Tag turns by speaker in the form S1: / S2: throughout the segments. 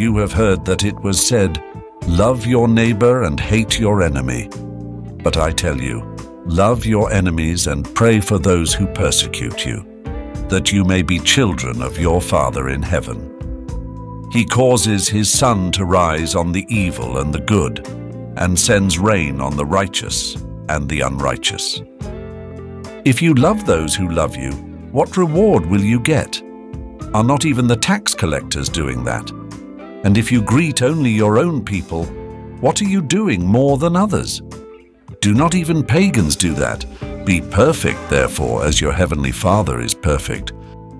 S1: you have heard that it was said, 'Love your neighbor and hate your enemy.' But I tell you, love your enemies and pray for those who persecute you, that you may be children of your Father in heaven. He causes his sun to rise on the evil and the good, and sends rain on the righteous and the unrighteous. If you love those who love you, what reward will you get? Are not even the tax collectors doing that? And if you greet only your own people, what are you doing more than others? Do not even pagans do that? Be perfect, therefore, as your heavenly Father is perfect.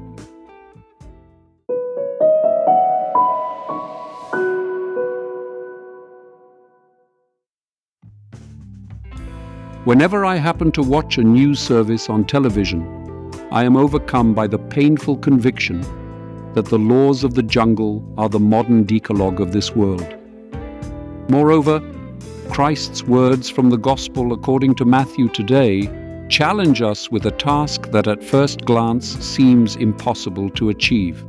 S2: Whenever I happen to watch a news service on television, I am overcome by the painful conviction that the laws of the jungle are the modern decalogue of this world. Moreover, Christ's words from the Gospel according to Matthew today challenge us with a task that at first glance seems impossible to achieve.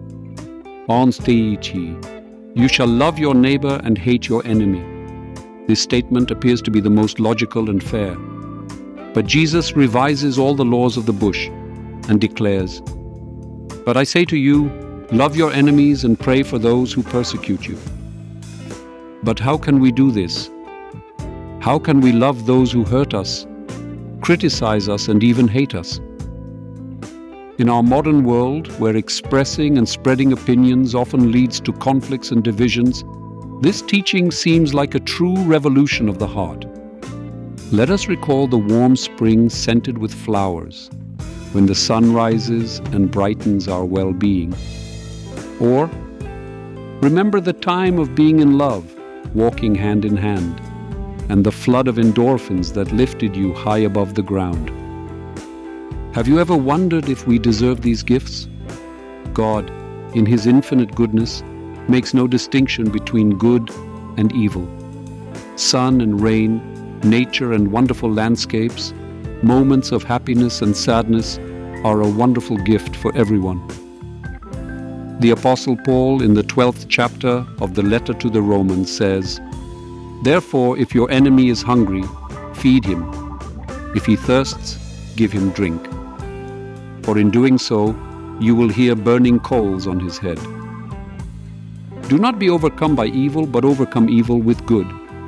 S2: You shall love your neighbor and hate your enemy. This statement appears to be the most logical and fair. But Jesus revises all the laws of the bush and declares, "But I say to you, love your enemies and pray for those who persecute you." But how can we do this? How can we love those who hurt us, criticize us, and even hate us? In our modern world, where expressing and spreading opinions often leads to conflicts and divisions, this teaching seems like a true revolution of the heart. Let us recall the warm spring scented with flowers, when the sun rises and brightens our well-being. Or remember the time of being in love, walking hand in hand, and the flood of endorphins that lifted you high above the ground. Have you ever wondered if we deserve these gifts? God, in His infinite goodness, makes no distinction between good and evil. Sun and rain, nature and wonderful landscapes, moments of happiness and sadness are a wonderful gift for everyone. The Apostle Paul, in the 12th chapter of the letter to the Romans, says, "Therefore, if your enemy is hungry, feed him. If he thirsts, give him drink. For in doing so, you will hear burning coals on his head." Do not be overcome by evil, but overcome evil with good.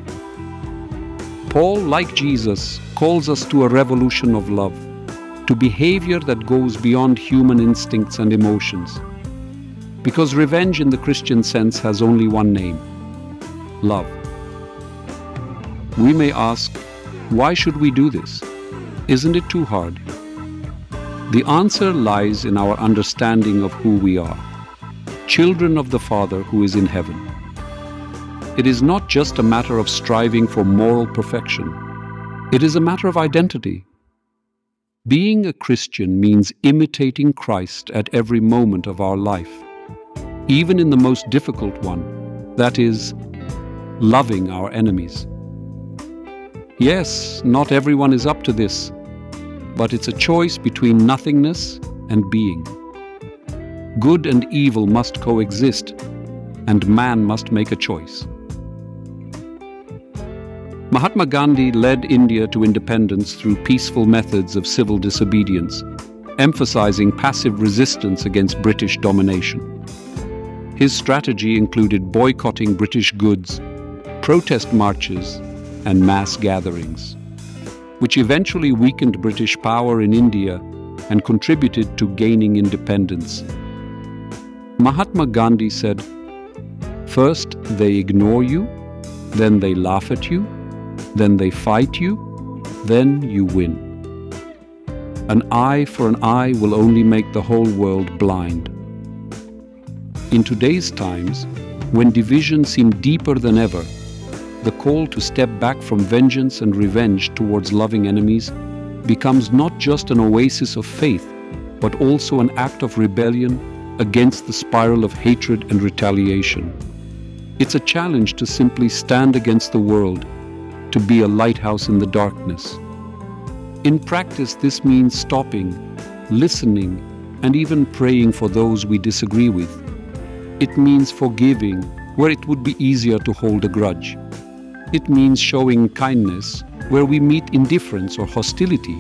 S2: Paul, like Jesus, calls us to a revolution of love, to behavior that goes beyond human instincts and emotions. Because revenge in the Christian sense has only one name: love. We may ask, why should we do this? Isn't it too hard? The answer lies in our understanding of who we are, children of the Father who is in heaven. It is not just a matter of striving for moral perfection. It is a matter of identity. Being a Christian means imitating Christ at every moment of our life, even in the most difficult one, that is, loving our enemies. Yes, not everyone is up to this, but it's a choice between nothingness and being. Good and evil must coexist, and man must make a choice. Mahatma Gandhi led India to independence through peaceful methods of civil disobedience, emphasizing passive resistance against British domination. His strategy included boycotting British goods, protest marches, and mass gatherings, which eventually weakened British power in India and contributed to gaining independence. Mahatma Gandhi said, "First they ignore you, then they laugh at you, then they fight you, then you win. An eye for an eye will only make the whole world blind." In today's times, when division seems deeper than ever, the call to step back from vengeance and revenge towards loving enemies becomes not just an oasis of faith, but also an act of rebellion against the spiral of hatred and retaliation. It's a challenge to simply stand against the world, to be a lighthouse in the darkness. In practice, this means stopping, listening, and even praying for those we disagree with. It means forgiving, where it would be easier to hold a grudge. It means showing kindness where we meet indifference or hostility.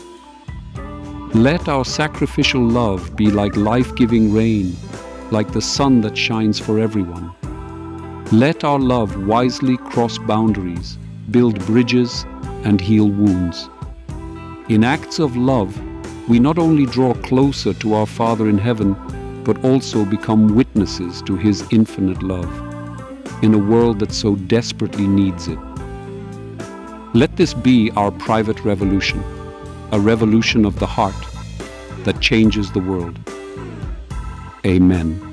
S2: Let our sacrificial love be like life-giving rain, like the sun that shines for everyone. Let our love wisely cross boundaries, build bridges, and heal wounds. In acts of love, we not only draw closer to our Father in heaven, but also become witnesses to His infinite love in a world that so desperately needs it. Let this be our private revolution, a revolution of the heart that changes the world. Amen.